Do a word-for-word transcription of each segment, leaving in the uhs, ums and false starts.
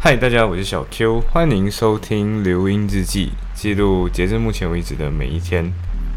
嗨，大家好，我是小 Q， 欢迎收听流音日记，记录截至目前为止的每一天。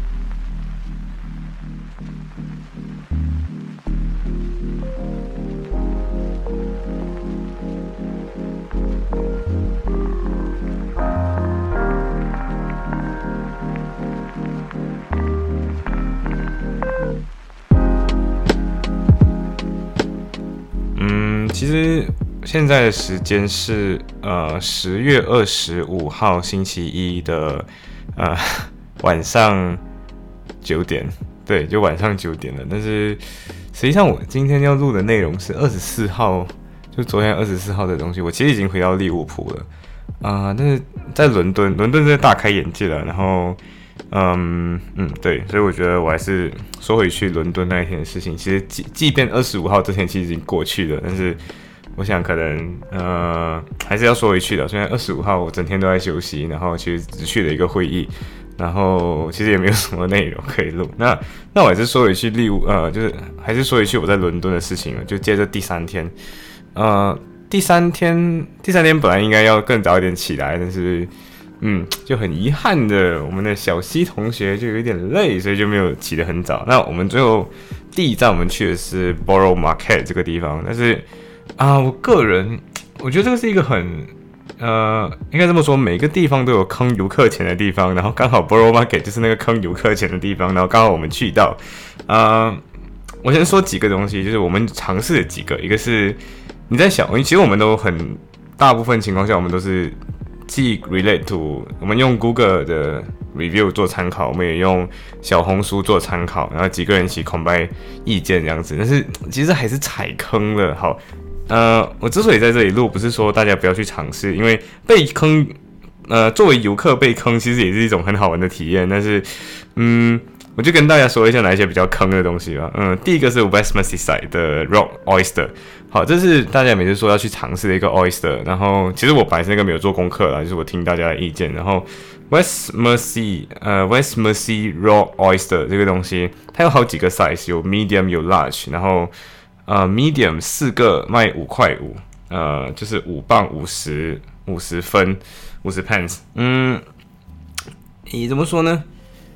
嗯，其实现在的时间是呃十月二十五号星期一的呃晚上九点，对，就晚上九点了。但是实际上我今天要录的内容是二十四号，就昨天二十四号的东西。我其实已经回到利物浦了啊、呃，但是在伦敦，伦敦真的大开眼界了。然后嗯嗯，对，所以我觉得我还是说回去伦敦那一天的事情。其实即即便二十五号这天其实已经过去了，但是我想可能呃还是要说回去的。虽然二十五号我整天都在休息，然后其实只去了一个会议，然后其实也没有什么内容可以录。那那我还是说回去利物呃，就是还是说回去我在伦敦的事情了。就接着第三天，呃，第三天第三天本来应该要更早一点起来，但是嗯，就很遗憾的，我们的小西同学就有一点累，所以就没有起得很早。那我们最后第一站我们去的是 Borough Market 这个地方，但是啊，我个人我觉得这个是一个很呃，应该这么说，每个地方都有坑游客钱的地方，然后刚好 Borough Market 就是那个坑游客钱的地方，然后刚好我们去到。呃，我先说几个东西，就是我们尝试了几个，一个是你在想，其实我们都很大部分情况下我们都是既 relate to 我们用 Google 的 review 做参考，我们也用小红书做参考，然后几个人一起 combine 意见这样子，但是其实还是踩坑了。好，呃，我之所以在这里录，不是说大家不要去尝试，因为被坑，呃，作为游客被坑，其实也是一种很好玩的体验。但是，嗯，我就跟大家说一下哪一些比较坑的东西吧。嗯，第一个是 West Merseyside 的 Rock Oyster。好，这是大家每次说要去尝试的一个 oyster， 然后其实我本来是那个没有做功课啦，就是我听大家的意见。然后 West Mersey 呃 West Mersey Raw Oyster 这个东西，它有好几个 size， 有 medium 有 large， 然后呃 medium 四个卖五块五，呃就是五磅五十五十分五十 pence。嗯，你怎么说呢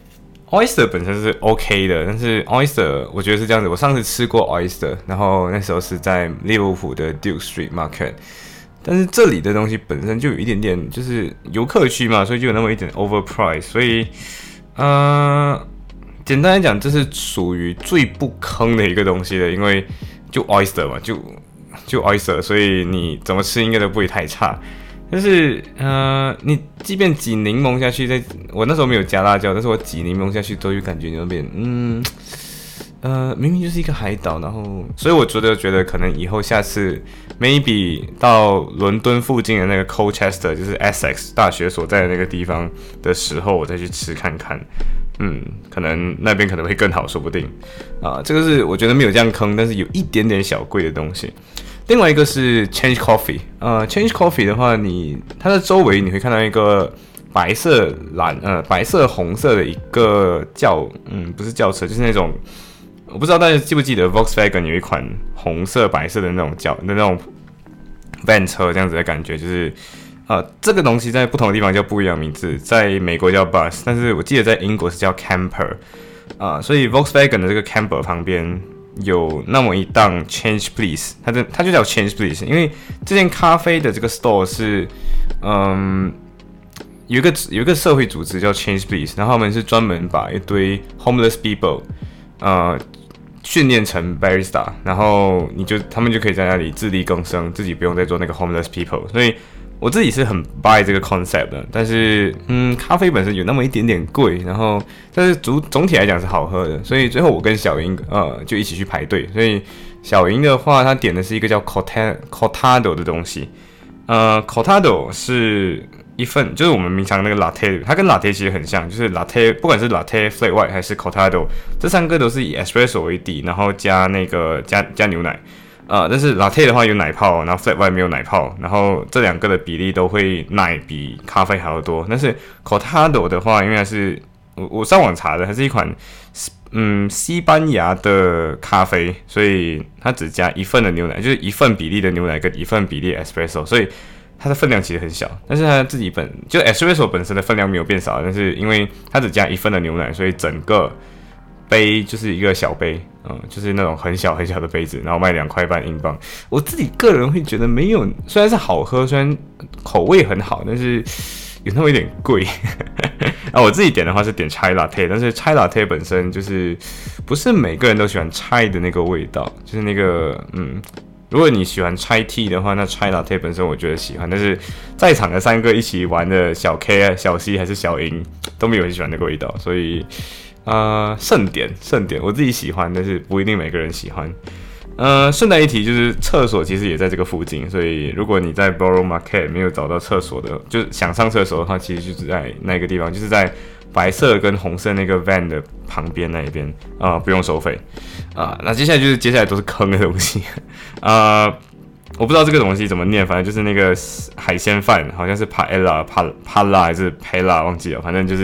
？Oyster 本身是 OK 的，但是 Oyster 我觉得是这样子。我上次吃过 Oyster， 然后那时候是在利物浦的 Duke Street Market， 但是这里的东西本身就有一点点，就是游客区嘛，所以就有那么一点 overprice。所以，呃，简单来讲，这是属于最不坑的一个东西的，因为就 Oyster 嘛，就就 Oyster， 所以你怎么吃应该都不会太差。但是，呃，你即便挤柠檬下去，在我那时候没有加辣椒，但是我挤柠檬下去都有感觉那边，嗯，呃，明明就是一个海岛，然后，所以我觉得觉得可能以后下次 maybe 到伦敦附近的那个 Colchester， 就是 Essex 大学所在的那个地方的时候，我再去吃看看，嗯，可能那边可能会更好，说不定啊。这个是我觉得没有这样坑，但是有一点点小贵的东西。另外一个是 Change Coffee， 呃 ，Change Coffee 的话，你它的周围你会看到一个白色蓝呃白色红色的一个轿，嗯，不是轿车，就是那种我不知道大家记不记得 Volkswagen 有一款红色白色的那种轿的那种 van 车这样子的感觉，就是呃这个东西在不同的地方叫不一样名字，在美国叫 bus， 但是我记得在英国是叫 camper， 啊、呃，所以 Volkswagen 的这个 camper 旁边有那么一档 Change Please， 它的它就叫 Change Please， 因为这间咖啡的这个 store 是，嗯，有一个有一个社会组织叫 Change Please， 然后他们是专门把一堆 homeless people， 呃，训练成 barista， 然后你就他们就可以在那里自力更生，自己不用再做那个 homeless people， 所以我自己是很 buy 这个 concept 的，但是嗯，咖啡本身有那么一点点贵，然后但是总总体来讲是好喝的，所以最后我跟小莹呃就一起去排队，所以小莹的话，她点的是一个叫 cortado 的东西，呃 cortado 是一份就是我们平常那个 latte， 它跟 latte 其实很像，就是 latte 不管是 latte flat white 还是 cortado， 这三个都是以 espresso 为底，然后加那个加加牛奶。呃，但是 latte 的话有奶泡，然后 flat white 没有奶泡，然后这两个的比例都会奶比咖啡还要多。但是 cortado 的话，因为它是我我上网查的，它是一款嗯西班牙的咖啡，所以它只加一份的牛奶，就是一份比例的牛奶跟一份比例 espresso， 所以它的分量其实很小，但是它自己本就 espresso 本身的分量没有变少，但是因为它只加一份的牛奶，所以整个杯就是一个小杯，嗯，就是那种很小很小的杯子，然后卖两块半英镑。我自己个人会觉得没有，虽然是好喝，虽然口味很好，但是有那么一点贵。啊，我自己点的话是点 chai latte， 但是 chai latte 本身就是不是每个人都喜欢 chai 的那个味道，就是那个嗯。如果你喜欢 chai tea 的话，那 chai latte 本身我觉得喜欢，但是在场的三个一起玩的小 K、小 C 还是小英都没有很喜欢那个味道，所以呃，盛典盛典我自己喜欢，但是不一定每个人喜欢。呃，顺带一提，就是厕所其实也在这个附近，所以如果你在 Borough Market 没有找到厕所的，就是想上厕所的话，其实就是在那个地方，就是在白色跟红色那个 van 的旁边那一边啊、呃，不用收费啊、呃。那接下来就是接下来都是坑的东西啊、呃，我不知道这个东西怎么念，反正就是那个海鲜饭，好像是 paella、pa pala 还是 pela 忘记了，反正就是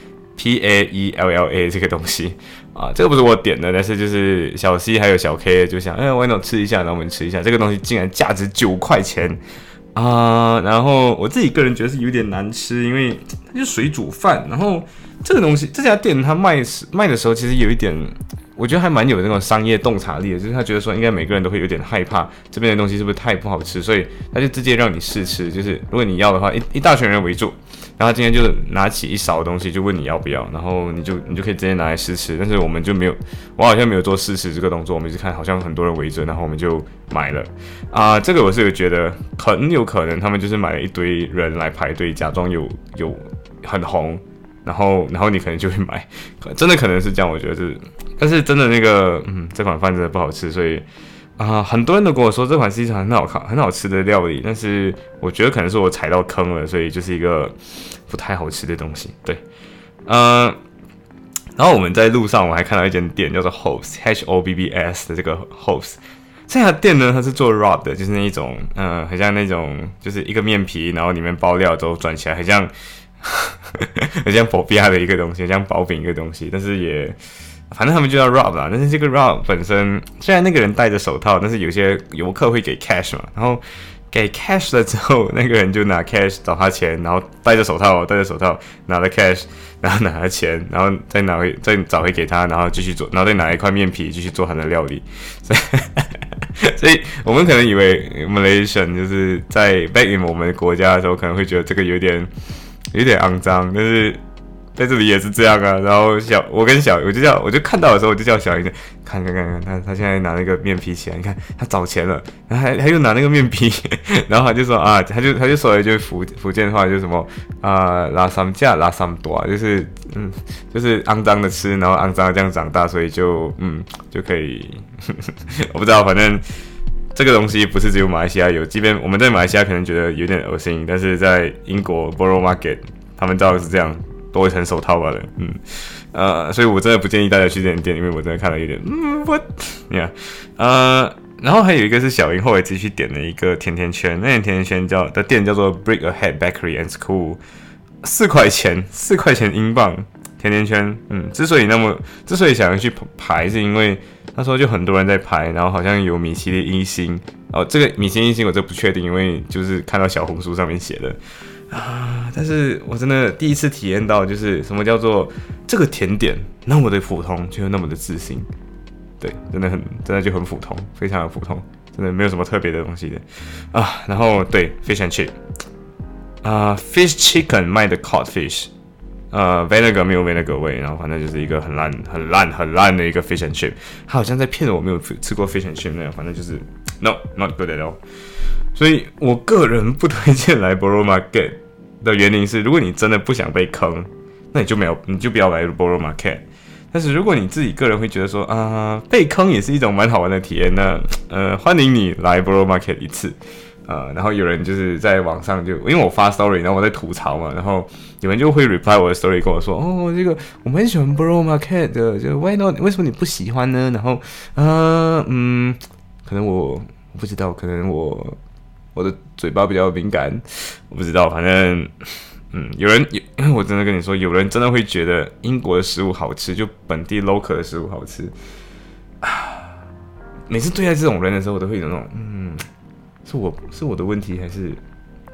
P A E L L A 这个东西啊，这个不是我点的，但是就是小 C 还有小 K 就想，哎 ，why not 吃一下，然后我们吃一下，这个东西竟然价值九块钱啊、呃！然后我自己个人觉得是有点难吃，因为它就是水煮饭，然后这个东西这家店它卖卖的时候其实有一点。我觉得还蛮有那种商业洞察力的，就是他觉得说应该每个人都会有点害怕这边的东西是不是太不好吃，所以他就直接让你试吃，就是如果你要的话，一一大群人围住，然后他今天就拿起一勺东西就问你要不要，然后你就你就可以直接拿来试吃，但是我们就没有，我好像没有做试吃这个动作，我们一直看好像很多人围着，然后我们就买了啊、呃，这个我是有觉得很有可能他们就是买了一堆人来排队，假装有有很红。然后，然后你可能就会买，真的可能是这样，我觉得是，但是真的那个，嗯，这款饭真的不好吃，所以啊、呃，很多人都跟我说这款是一场很好看、很好吃的料理，但是我觉得可能是我踩到坑了，所以就是一个不太好吃的东西。对，呃，然后我们在路上我还看到一间店叫做 Hobbs H O B B S 的这个 Hobbs。这家店呢，它是做 wrap 的，就是那一种，嗯、呃，很像那种，就是一个面皮，然后里面包料之后转起来，很像。很像薄皮亚的一个东西，很像薄饼一个东西，但是也反正他们就叫 wrap 啦。但是这个 wrap 本身，虽然那个人戴着手套，但是有些游客会给 cash 嘛，然后给 cash 了之后，那个人就拿 cash 找他钱，然后戴着手套，戴着手套拿了 cash， 然后拿了钱，然后再拿回再找回给他，然后继续做，然后再拿一块面皮继续做他的料理。所以所以我们可能以为 Malaysian 就是在 back in 我们国家的时候，可能会觉得这个有点。有点肮脏，但是在这里也是这样啊。然后小我跟小我就叫我就看到的时候我就叫小英看看看看他他现在拿那个面皮起来，你看他找钱了，然后还他又拿那个面皮，然后他就说啊，他就他就说了一句福福建话，就是什么啊拉三架拉三多，就是嗯就是肮脏的吃，然后肮脏的这样长大，所以就嗯就可以我不知道，反正。这个东西不是只有马来西亚有，即便我们在马来西亚可能觉得有点恶心，但是在英国 Borough Market 他们照样是这样，多一层手套吧的，嗯，呃，所以我真的不建议大家去这间店，因为我真的看了有点，嗯，我，你看，呃，然后还有一个是小英后来自己去点的一个甜甜圈，那间甜甜圈叫的店叫做 Brick Ahead Bakery and School， 四块钱，四块钱英镑。甜甜圈，嗯，之所以那么，之所以想要去排，是因为那时候就很多人在排，然后好像有米其林一星，哦，这个米其林一星我这不确定，因为就是看到小红书上面写的啊，但是我真的第一次体验到，就是什么叫做这个甜点那么的普通，却又那么的自信，对，真的很，真的就很普通，非常的普通，真的没有什么特别的东西的啊。然后对 ，fish and chip， 啊 ，fish chicken 卖的 cod fish。呃 ，vinegar 没有 vinegar 味，然后反正就是一个很烂、很烂、很烂的一个 fish and chip。他好像在骗我没有吃过 fish and chip 那样，反正就是 no not good at all。所以我个人不推荐来 Borough Market 的原因是，如果你真的不想被坑，那你就没有，你就不要来 Borough Market。但是如果你自己个人会觉得说啊、呃，被坑也是一种蛮好玩的体验，那呃，欢迎你来 Borough Market 一次。呃，然后有人就是在网上就，因为我发 story， 然后我在吐槽嘛，然后有人就会 reply 我的 story 跟我说，哦，这个我们很喜欢 Borough Market 的，就 why not？ 为什么你不喜欢呢？然后，呃，嗯，可能我我不知道，可能我我的嘴巴比较敏感，我不知道，反正，嗯，有人，因为我真的跟你说，有人真的会觉得英国的食物好吃，就本地 local 的食物好吃啊。每次对待这种人的时候，我都会有那种，嗯。是我是我的问题，还是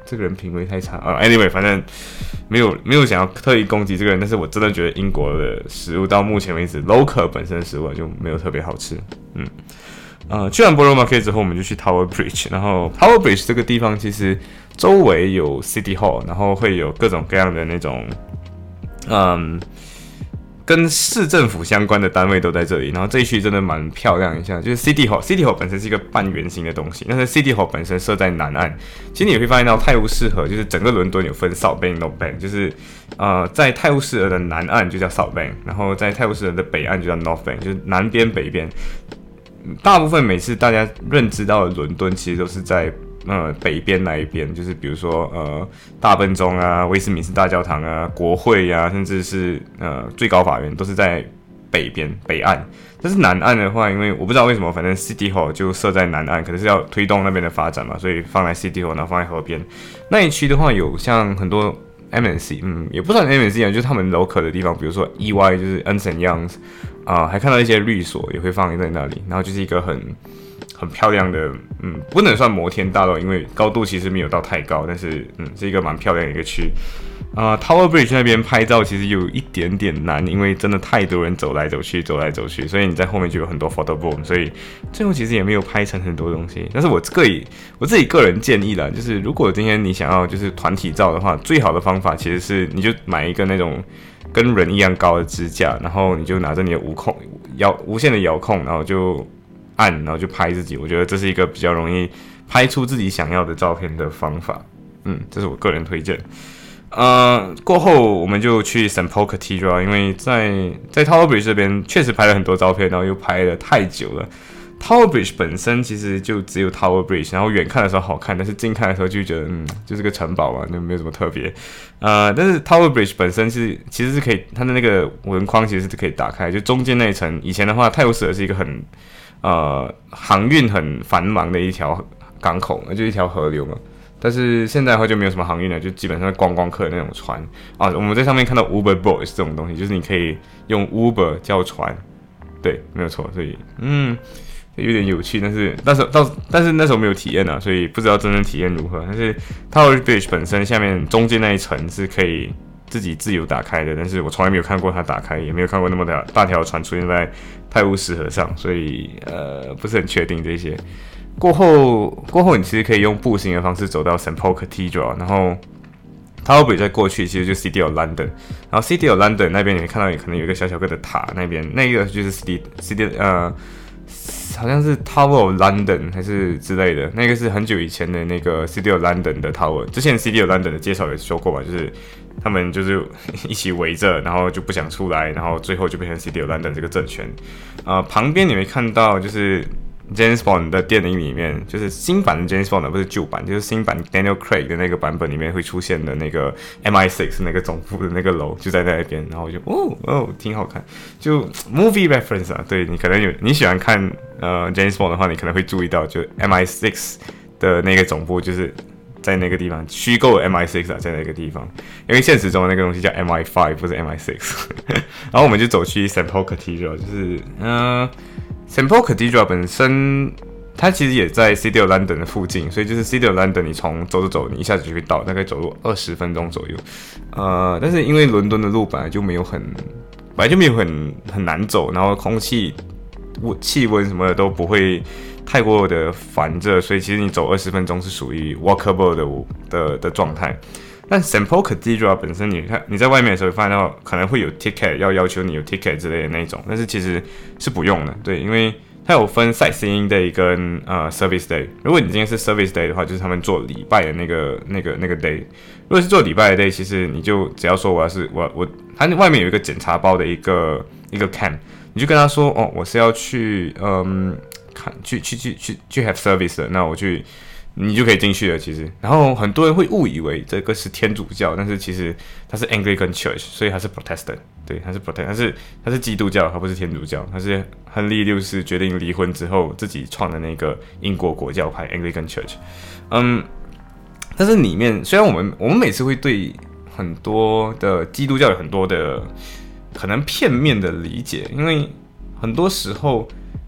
这个人品味太差啊。Anyway， 反正没有没有想要特意攻击这个人，但是我真的觉得英国的食物到目前为止 ，local 本身的食物就没有特别好吃。嗯，呃，去完 Borough Market 之后，我们就去 Tower Bridge， 然后 Tower Bridge 这个地方其实周围有 City Hall， 然后会有各种各样的那种，嗯。跟市政府相关的单位都在这里，然后这一区真的蛮漂亮一下，就是 City Hall。City Hall 本身是一个半圆形的东西，但是 City Hall 本身设在南岸。其实你也会发现到泰晤士河，就是整个伦敦有分 South Bank、North Bank， 就是呃在泰晤士河的南岸就叫 South Bank， 然后在泰晤士河的北岸就叫 North Bank， 就是南边北边。大部分每次大家认知到的伦敦，其实都是在呃北边那一边，就是比如说呃大笨钟啊、威斯敏斯大教堂啊、国会啊，甚至是呃最高法院都是在北边北岸。但是南岸的话，因为我不知道为什么，反正 City Hall 就设在南岸，可能是要推动那边的发展嘛，所以放在 City Hall， 然后放在河边那一区的话，有像很多 M N C， 嗯，也不算 M N C 啊，就是他们 local 的地方，比如说 E Y， 就是 Ernst and Young， 啊、呃，还看到一些律所也会放在那里，然后就是一个很。很漂亮的，嗯，不能算摩天大楼，因为高度其实没有到太高，但是，嗯，是一个蛮漂亮的一个区。啊、呃、，Tower Bridge 那边拍照其实有一点点难，因为真的太多人走来走去，走来走去，所以你在后面就有很多 photo boom， 所以最后其实也没有拍成很多东西。但是我个人我自己个人建议啦，就是如果今天你想要就是团体照的话，最好的方法其实是你就买一个那种跟人一样高的支架，然后你就拿着你的无控遥无线的遥控，然后就。按，然后就拍自己，我觉得这是一个比较容易拍出自己想要的照片的方法。嗯，这是我个人推荐。呃，过后我们就去 Saint Paul Cathedral， 因为在在 Tower Bridge 这边确实拍了很多照片，然后又拍了太久了。Tower Bridge 本身其实就只有 Tower Bridge， 然后远看的时候好看，但是近看的时候就觉得，嗯，就是个城堡嘛，就没有什么特别。呃，但是 Tower Bridge 本身是其实是可以，它的那个纹框其实是可以打开，就中间那一层。以前的话，泰晤士河是一个很呃航运很繁忙的一条港口，就一条河流嘛。但是现在的话就没有什么航运了，就基本上观光客的那种船啊。我们在上面看到 Uber Boats 这种东西，就是你可以用 Uber 叫船，对，没有错。所以，嗯。有点有趣，但是但是到但是那时候没有体验啊，所以不知道真正体验如何。但是 Tower Bridge 本身下面中间那一层是可以自己自由打开的，但是我从来没有看过它打开，也没有看过那么大大条船出现在泰晤士河上，所以呃不是很确定这些。过后过后你其实可以用步行的方式走到 Saint Paul Cathedral， 然后 Tower Bridge 再过去其实就 City of London， 然后 City of London 那边你会看到可能有一个小小个的塔，那边那个就是 City City 呃。好像是 Tower of London 还是之类的，那个是很久以前的那个 City of London 的 Tower。之前 City of London 的介绍也说过嘛，就是他们就是一起围着，然后就不想出来，然后最后就变成 City of London 这个政权。呃，旁边你会看到就是 James Bond 的电影里面，就是新版的 James Bond 不是旧版，就是新版 Daniel Craig 的那个版本里面会出现的那个 M I 六 那个总部的那个楼就在那边，然后我就哦哦挺好看，就 movie reference 啊，对你可能有你喜欢看呃 James Bond 的话，你可能会注意到，就 M I 六 的那个总部就是在那个地方，虚构的 M I 六 啊，在那个地方，因为现实中的那个东西叫 M I 五， 不是 M I 六。然后我们就走去 Saint Paul Cathedral， 就是嗯。呃Saint Paul Cathedral 本身，它其实也在 City of London 的附近，所以就是 City of London， 你从走走走，你一下子就会到，大概走路二十分钟左右。呃，但是因为伦敦的路本来就没有很，本来就没有很很难走，然后空气、气温什么的都不会太过的烦热，所以其实你走二十分钟是属于 walkable 的的的状态。但 Saint Paul Cathedral 本身你看你在外面的时候，发现到可能会有 ticket， 要要求你有 ticket 之类的那种，但是其实是不用的，对，因为它有分 sightseeing day 跟呃 service day。如果你今天是 service day 的话，就是他们做礼拜的那个那个那个 day。如果是做礼拜的 day， 其实你就只要说我要是我我，它外面有一个检查包的一个一个 cam， 你就跟他说哦，我是要去嗯看去去去去去 have service 的，那我去。你就可以进去了，其实。然后很多人会误以为这个是天主教，但是其实它是 Anglican Church， 所以它是 Protestant， 对，它是 Protestant， 它是它是基督教，它不是天主教，它是亨利六世决定离婚之后自己创的那个英国国教派 Anglican Church。嗯，但是里面虽然我们我们每次会对很多的基督教有很多的可能片面的理解，因为很多时候。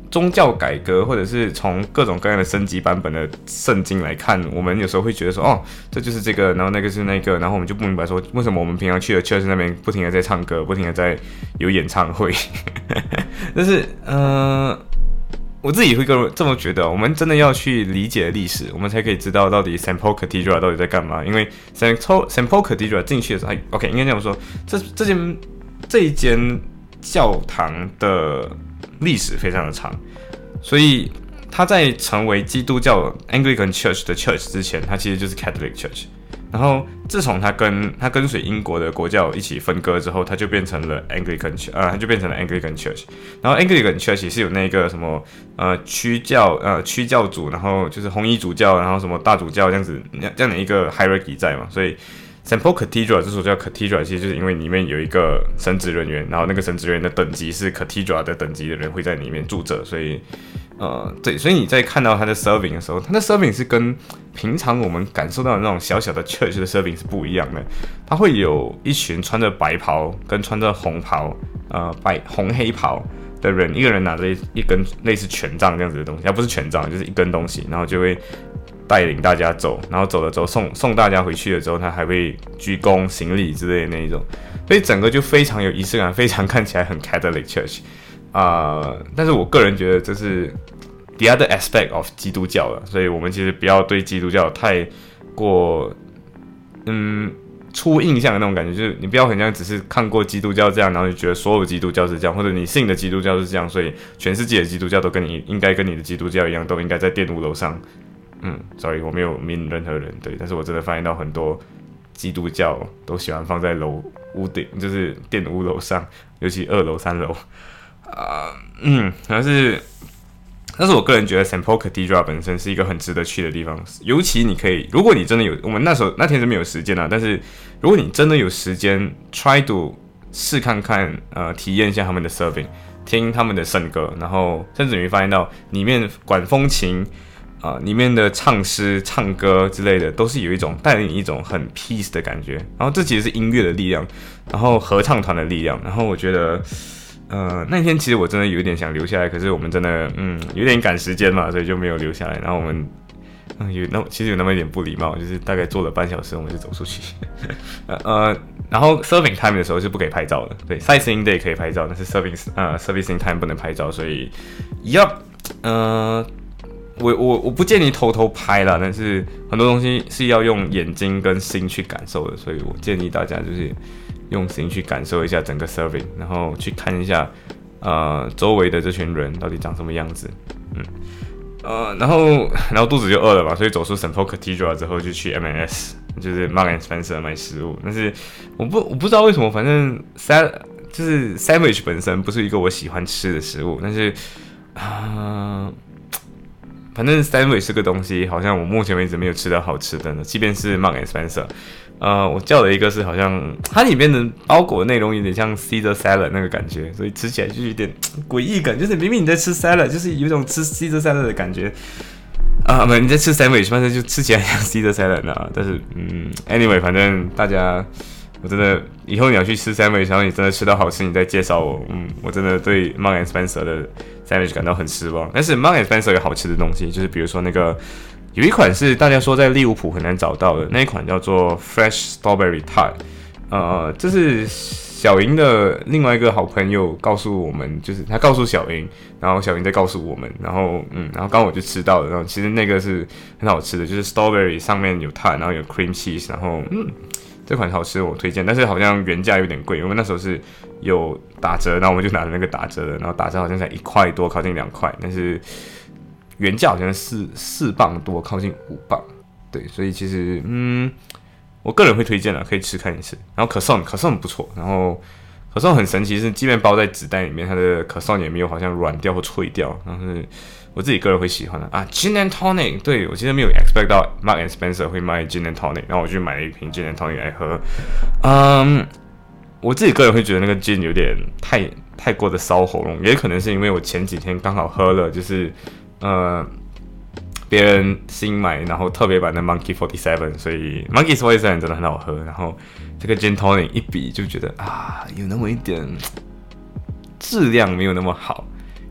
宗教改革，或者是从各种各样的升级版本的圣经来看，我们有时候会觉得说，哦，这就是这个，然后那个是那个，然后我们就不明白说，为什么我们平常去的 church 那边不停的在唱歌，不停的在有演唱会。但是，呃，我自己会这么觉得，我们真的要去理解历史，我们才可以知道到底 Saint Paul Cathedral 到底在干嘛。因为 Saint Paul Cathedral 进去的时候 ，OK， 应该这样说，这这间这一间教堂的历史非常的长，所以它在成为基督教 Anglican Church 的 Church 之前，它其实就是 Catholic Church。然后自从它跟它跟随英国的国教一起分割之后，它就变成了 Anglican Church， 呃，它就变成了 Anglican Church。然后 Anglican Church 也是有那个什么呃区教呃区教主，然后就是红衣主教，然后什么大主教这样子这样的一个 hierarchy 在嘛，所以。Saint Paul Cathedral 之所以叫 Cathedral， 其实就是因为里面有一个神职人员，然后那个神职人员的等级是 Cathedral 的等级的人会在里面住着，所以，呃，对，所以你在看到他的 serving 的时候，他的 serving 是跟平常我们感受到的那种小小的 church 的 serving 是不一样的，他会有一群穿着白袍跟穿着红袍，呃，白红黑袍的人，一个人拿着一根类似权杖这样子的东西，它不是权杖，就是一根东西，然后就会。带领大家走，然后走了之后送送大家回去了之后，他还会鞠躬行礼之类的那一种，所以整个就非常有仪式感，非常看起来很 Catholic Church 啊、呃。但是我个人觉得这是 the other aspect of 基督教了，所以我们其实不要对基督教太过嗯初印象的那种感觉，就是你不要很像只是看过基督教这样，然后就觉得所有基督教是这样，或者你信的基督教是这样，所以全世界的基督教都跟你应该跟你的基督教一样，都应该在殿屋楼上。嗯 ，sorry， 我没有明任何人，对，但是我真的发现到很多基督教都喜欢放在楼屋顶，就是殿屋楼上，尤其二楼、三楼，啊、呃，嗯，但是，但是我个人觉得 Saint Paul Cathedral 本身是一个很值得去的地方，尤其你可以，如果你真的有，我们那时候那天是没有时间啊，但是如果你真的有时间 ，try to 试看看，呃，体验一下他们的 serving， 听他们的圣歌，然后甚至你会发现到里面管风琴。啊、呃，里面的唱诗、唱歌之类的，都是有一种带领你一种很 peace 的感觉。然后这其实是音乐的力量，然后合唱团的力量。然后我觉得，呃，那天其实我真的有一点想留下来，可是我们真的，嗯，有点赶时间嘛，所以就没有留下来。然后我们，嗯，有那其实有那么一点不礼貌，就是大概坐了半小时，我们就走出去。呃，然后 serving time 的时候是不可以拍照的，对 ，sightseeing day 可以拍照，但是 serving 呃 servicing time 不能拍照，所以，yup， 呃。我我我不建议偷偷拍啦，但是很多东西是要用眼睛跟心去感受的，所以我建议大家就是用心去感受一下整个 serving， 然后去看一下呃周围的这群人到底长什么样子，嗯，呃，然后然后肚子就饿了嘛，所以走出 Saint Paul Cathedral 之后就去 M and S， 就是 Marks and Spencer 买食物，但是我不我不知道为什么，反正 sal 就是 sandwich 本身不是一个我喜欢吃的食物，但是啊。呃反正 sandwich 这个东西，好像我目前为止没有吃到好吃的呢。即便是 Marks and Spencer， 呃，我叫了一个是好像它里面的包裹的内容有点像 Caesar salad 那个感觉，所以吃起来就有点诡异感，就是明明你在吃 salad， 就是有一种吃 Caesar salad 的感觉。啊，不，你在吃 sandwich， 反正就吃起来像 Caesar salad 啊。但是，嗯 ，anyway， 反正大家。我真的以后你要去吃 sandwich， 然后你真的吃到好吃，你再介绍我。嗯，我真的对 Marks and Spencer 的 sandwich 感到很失望。但是 Marks and Spencer 有好吃的东西，就是比如说那个有一款是大家说在利物浦很难找到的那一款叫做 Fresh Strawberry Tart， 呃，这是小莹的另外一个好朋友告诉我们，就是他告诉小莹，然后小莹再告诉我们，然后嗯，然后刚刚我就吃到了，然后其实那个是很好吃的，就是 strawberry 上面有 tart， 然后有 cream cheese， 然后嗯。这款好吃，我推荐，但是好像原价有点贵，因为那时候是有打折，然后我们就拿了那个打折的，然后打折好像才一块多，靠近两块，但是原价好像四四磅多，靠近五磅，对，所以其实嗯，我个人会推荐啦，可以吃看一次。然后可颂，可颂不错，然后可颂很神奇，是即便包在纸袋里面，它的可颂也没有好像软掉或脆掉，然后是。我自己个人会喜欢的啊 ，Gin and Tonic， 对我其实没有 expect 到 Marks and Spencer 会卖 Gin and Tonic， 然后我去买了一瓶 Gin and Tonic 来喝。嗯，我自己个人会觉得那个 Gin 有点太太过的烧喉咙，也可能是因为我前几天刚好喝了，就是呃别人新买然后特别版的 Monkey forty-seven， 所以 Monkey forty-seven 真的很好喝，然后这个 Gin Tonic 一比就觉得啊有那么一点质量没有那么好。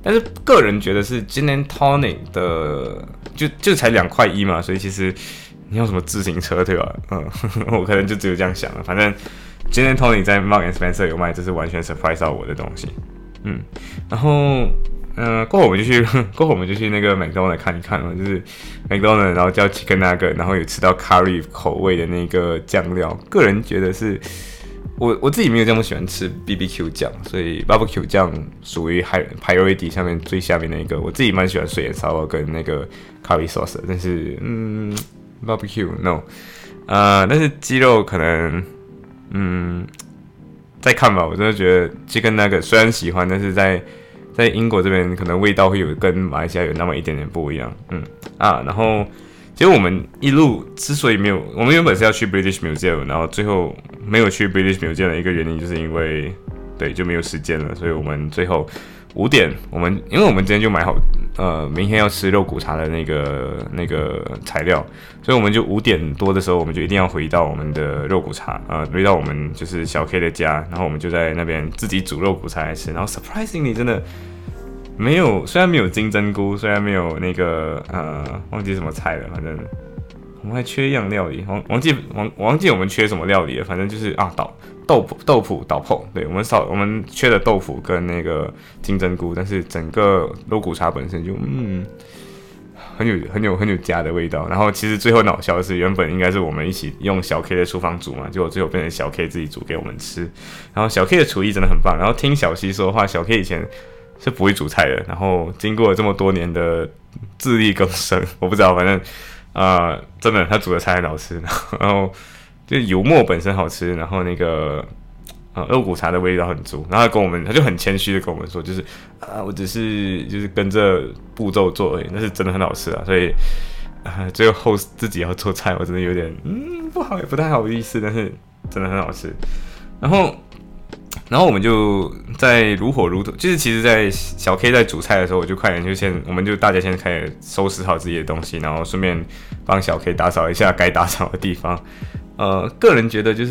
但是个人觉得是 Gin and Tonic 的，就就才两块一嘛，所以其实你要什么自行车对吧？嗯，我可能就只有这样想了。反正 Gin and Tonic 在 Marks and Spencer 有卖，这是完全 surprise 到我的东西。嗯，然后。嗯、呃，过后我们就去，过后我们就去那个 McDonald 看一看嘛，就是 McDonald， 然后叫 Chicken Nugget， 然后有吃到 curry 口味的那个酱料。个人觉得是，我我自己没有这么喜欢吃 B B Q 酱，所以 barbecue 酱属于 high priority 下面最下面那一个。我自己蛮喜欢水盐烧肉跟那个 curry sauce， 但是嗯 barbecue no， 呃，但是鸡肉可能嗯再看吧。我真的觉得 Chicken Nugget 虽然喜欢，但是在在英国这边可能味道会有跟马来西亚有那么一点点不一样，嗯啊，然后其实我们一路之所以没有，我们原本是要去 British Museum， 然后最后没有去 British Museum 的一个原因，就是因为对就没有时间了，所以我们最后五点，我们因为我们今天就买好，呃，明天要吃肉骨茶的那个那个材料，所以我们就五点多的时候，我们就一定要回到我们的肉骨茶，呃，回到我们就是小 K 的家，然后我们就在那边自己煮肉骨茶来吃，然后 surprisingly 真的没有，虽然没有金针菇，虽然没有那个呃忘记什么菜了，反正我们还缺一样料理，忘忘记忘忘记我们缺什么料理了，反正就是啊倒。豆腐、豆腐、倒泡，对我们少我们缺的豆腐跟那个金针菇，但是整个肉骨茶本身就嗯很有很有很有家的味道。然后其实最后闹笑的是，原本应该是我们一起用小 K 的厨房煮嘛，结果最后变成小 K 自己煮给我们吃。然后小 K 的厨艺真的很棒。然后听小西说的话，小 K 以前是不会煮菜的，然后经过了这么多年的自力更生，我不知道，反正啊、呃，真的他煮的菜很好吃，然后。就油墨本身好吃，然后那个呃肉骨茶的味道很足，然后他跟我们他就很谦虚的跟我们说，就是啊我只是就是跟着步骤做而已，但是真的很好吃啊，所以啊最后自己要做菜，我真的有点嗯不好也不太好意思，但是真的很好吃。然后然后我们就在如火如荼，就是其实，在小 K 在煮菜的时候，我就快点就先，我们就大家先开始收拾好自己的东西，然后顺便帮小 K 打扫一下该打扫的地方。呃，个人觉得就是，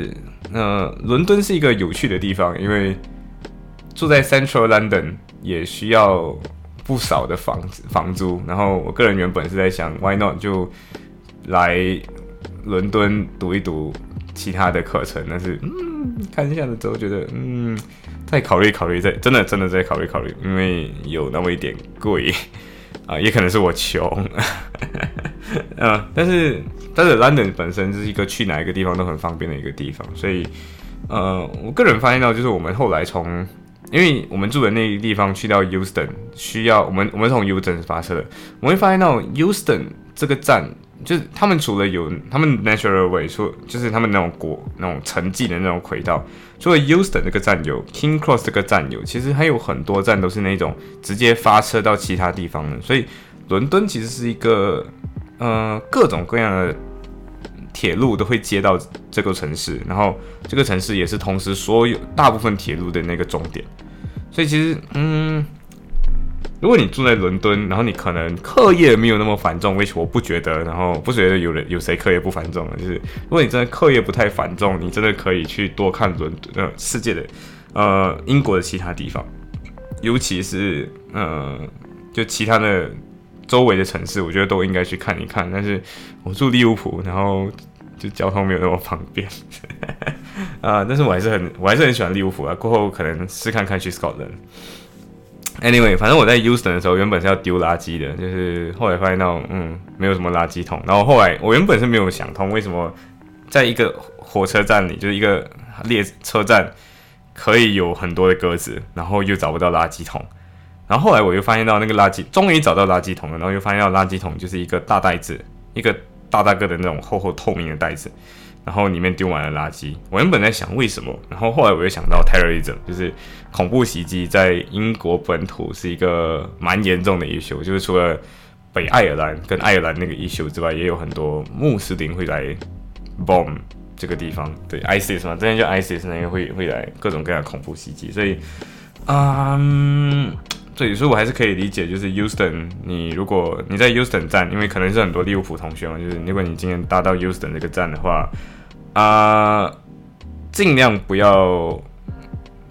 呃，伦敦是一个有趣的地方，因为住在 Central London 也需要不少的房房租。然后我个人原本是在想 ，Why not 就来伦敦读一读其他的课程，但是嗯，看一下了之后觉得嗯，再考虑考虑，再真的真的再考虑考虑，因为有那么一点贵。啊、呃，也可能是我穷，呃，但是但是 London 本身就是一个去哪一个地方都很方便的一个地方，所以呃，我个人发现到就是我们后来从，因为我们住的那个地方去到 Euston 需要我们我们从 Euston 发车的，我们会发现到 Euston 这个站，就是他们除了有他们 Natural Way， 除就是他们那种国那种城际的那种轨道。除了 Euston 这个站有 King Cross 这个站有，其实还有很多站都是那种直接发车到其他地方的，所以伦敦其实是一个呃各种各样的铁路都会接到这个城市，然后这个城市也是同时所有大部分铁路的那个终点，所以其实嗯。如果你住在伦敦，然后你可能课业没有那么繁重，which我不觉得，然后不觉得有人有谁课业不繁重了，就是如果你真的课业不太繁重，你真的可以去多看伦敦呃世界的呃英国的其他地方，尤其是呃就其他的周围的城市，我觉得都应该去看一看。但是我住利物浦，然后就交通没有那么方便，啊、呃，但是我还是很我还是很喜欢利物浦啊。过后可能试看看去 Scotland。Anyway， 反正我在 Euston 的时候，原本是要丢垃圾的，就是后来发现到，嗯，没有什么垃圾桶。然后后来我原本是没有想通，为什么在一个火车站里，就是一个列车站，可以有很多的鸽子，然后又找不到垃圾桶。然后后来我又发现到那个垃圾，终于找到垃圾桶了，然后又发现到垃圾桶就是一个大袋子，一个大大个的那种厚厚透明的袋子。然后里面丢满了垃圾，我原本在想为什么，然后后来我又想到 terrorism， 就是恐怖袭击在英国本土是一个蛮严重的 issue， 就是除了北爱尔兰跟爱尔兰那个 issue 之外，也有很多穆斯林会来 bomb 这个地方，对 ISIS 嘛，之前就 ISIS 那个会会来各种各样的恐怖袭击，所以，嗯。对，所以我还是可以理解，就是 Euston， 你如果你在 Euston 站，因为可能是很多利物浦同学嘛，就是如果你今天搭到 Euston 这个站的话，啊、呃，尽量不要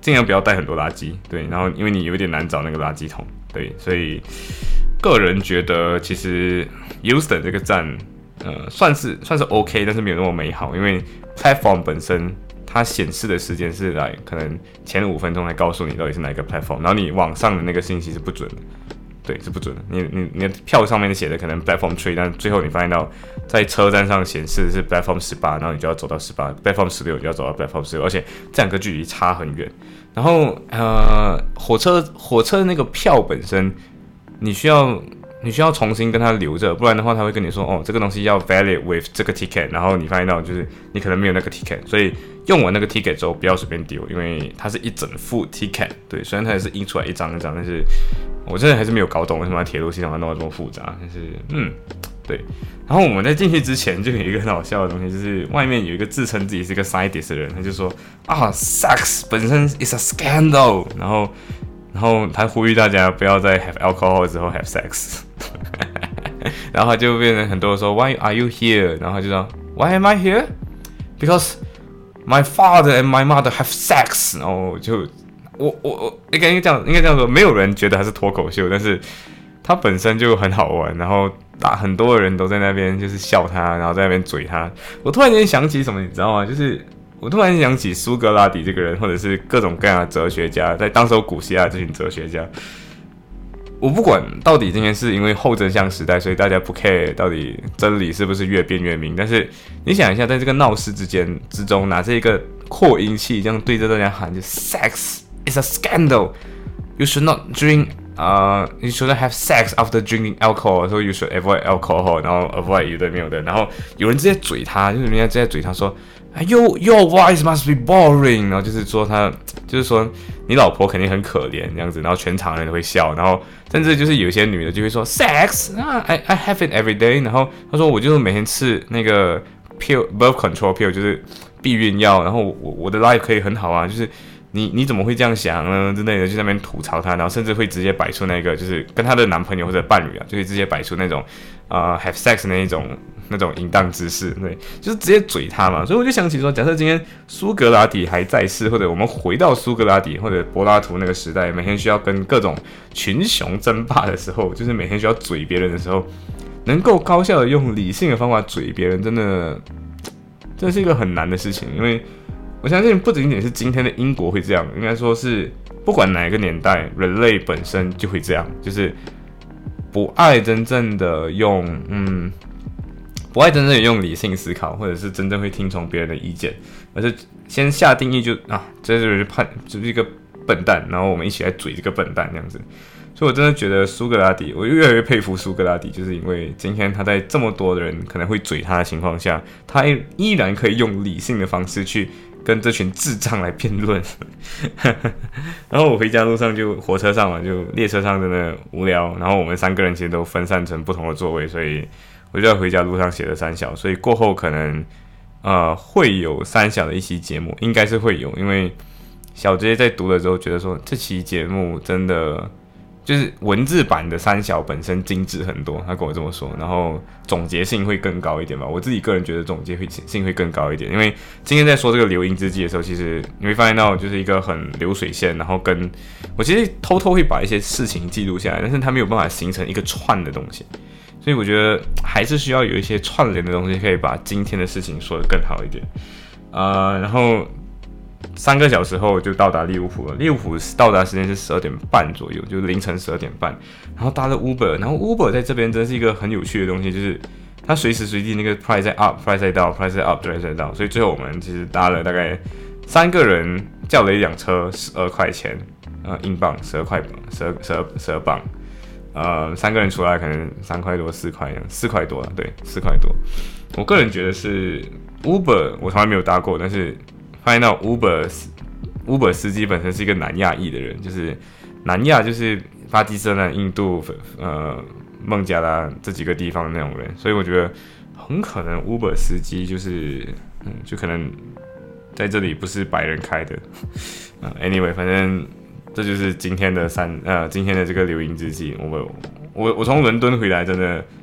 尽量不要带很多垃圾，对，然后因为你有点难找那个垃圾桶，对，所以个人觉得其实 Houston 这个站，呃，算是算是 OK， 但是没有那么美好，因为 platform 本身它显示的时间是来可能前五分钟来告诉你到底是哪一个 platform， 然后你网上的那个信息是不准的。对，是不准的。你你你的票上面写的可能 platform three， 但最后你发现到在车站上显示的是 platform 十八，然后你就要走到十八 ，platform 十六就要走到 platform 十六，而且这两个距离差很远。然后呃，火车火车的那个票本身，你需要你需要重新跟他留着，不然的话他会跟你说哦，这个东西要 valid with 这个 ticket， 然后你发现到就是你可能没有那个 ticket， 所以用完那个 ticket 之后不要随便丢，因为它是一整副 ticket。对，虽然它也是印出来一张一张，但是我真的还是没有搞懂为什么铁路系统要弄得这么复杂。但是嗯，对。然后我们在进去之前就有一个很好笑的东西，就是外面有一个自称自己是一个 scientist 的人，他就说啊 ，sex 本身 is a scandal， 然后然后他呼吁大家不要在 have alcohol 之后 have sex， 然后他就变成很多人说 Why are you here？ 然后他就说 Why am I here? Because my father and my mother have sex。然后就我我我应该这样应该这样说，没有人觉得他是脱口秀，但是他本身就很好玩，然后打很多人都在那边就是笑他，然后在那边嘴他。我突然间想起什么，你知道吗？就是我突然想起苏格拉底这个人，或者是各种各样的哲学家，在当时古希腊这群哲学家。我不管到底今天是因为后真相时代，所以大家不 care 到底真理是不是越辩越明。但是你想一下，在这个闹市之间之中，拿这一个扩音器这样对着大家喊，就 "Sex is a scandal. You should not drink. 呃、uh, ，You shouldn't have sex after drinking alcohol. So you should avoid alcohol. 然后 avoid 有的没有的。然后有人直接嘴他，就是人家直接嘴他说。Your your voice must be boring， 然后就是说他，就是说你老婆肯定很可怜这样子，然后全场人都会笑，然后甚至就是有些女的就会说 sex 啊 I I have it every day， 然后他说我就是每天吃那个 pill birth control pill 就是避孕药，然后我我的 life 可以很好啊，就是你你怎么会这样想呢之类的，就在那边吐槽他，然后甚至会直接摆出那个就是跟他的男朋友或者伴侣啊，就会直接摆出那种呃 have sex 那一种。那种淫荡之事，对，就是直接嘴他嘛，所以我就想起说，假设今天苏格拉底还在世，或者我们回到苏格拉底或者柏拉图那个时代，每天需要跟各种群雄争霸的时候，就是每天需要嘴别人的时候，能够高效的用理性的方法嘴别人，真的，这是一个很难的事情，因为我相信不仅仅是今天的英国会这样，应该说是不管哪一个年代，人类本身就会这样，就是不爱真正的用，嗯。不爱真正用理性思考，或者是真正会听从别人的意见，而是先下定义就啊，这就是判就是一个笨蛋，然后我们一起来嘴这个笨蛋这样子。所以我真的觉得苏格拉底，我越来越佩服苏格拉底，就是因为今天他在这么多的人可能会嘴他的情况下，他依然可以用理性的方式去跟这群智障来辩论。然后我回家路上就火车上嘛，就列车上真的无聊，然后我们三个人其实都分散成不同的座位，所以。我就在回家路上写了三小，所以过后可能呃会有三小的一期节目，应该是会有，因为小杰在读了之后觉得说这期节目真的就是文字版的三小本身精致很多，他跟我这么说，然后总结性会更高一点吧。我自己个人觉得总结性会更高一点，因为今天在说这个流音之际的时候，其实你会发现到就是一个很流水线，然后跟我其实偷偷会把一些事情记录下来，但是它没有办法形成一个串的东西。所以我觉得还是需要有一些串联的东西，可以把今天的事情说得更好一点。呃，然后三个小时后就到达利物浦了。利物浦到达时间是十二点半左右，就是凌晨十二点半。然后搭了 Uber， 然后 Uber 在这边真的是一个很有趣的东西，就是它随时随地那个 price 在 up，price 在 down，price 在 up，price 在 down。所以最后我们其实搭了大概三个人叫了一辆车，十二块钱，呃，英镑，十二块，十二十二十二镑。呃，三个人出来可能三块多、四块，四块多了，对，四块多。我个人觉得是 Uber， 我从来没有搭过，但是发现到 Uber Uber 司机本身是一个南亚裔的人，就是南亚就是巴基斯坦、印度、呃孟加拉这几个地方的那种人，所以我觉得很可能 Uber 司机就是嗯，就可能在这里不是白人开的。呃 anyway， 反正。这就是今天的三呃今天的这个流音之际，我我我从伦敦回来，真的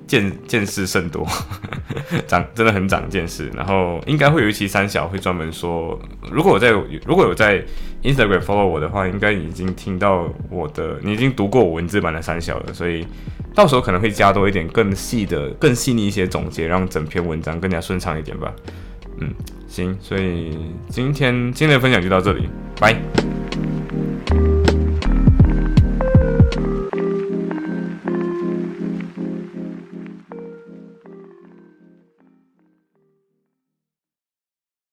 见见识甚多，长真的很长见识。然后应该会有一期三小会专门说，如果我在如果有在 Instagram follow 我的话，应该已经听到我的，你已经读过我文字版的三小了，所以到时候可能会加多一点更细的、更细腻一些总结，让整篇文章更加顺畅一点吧。嗯，行，所以今天今天的分享就到这里，拜。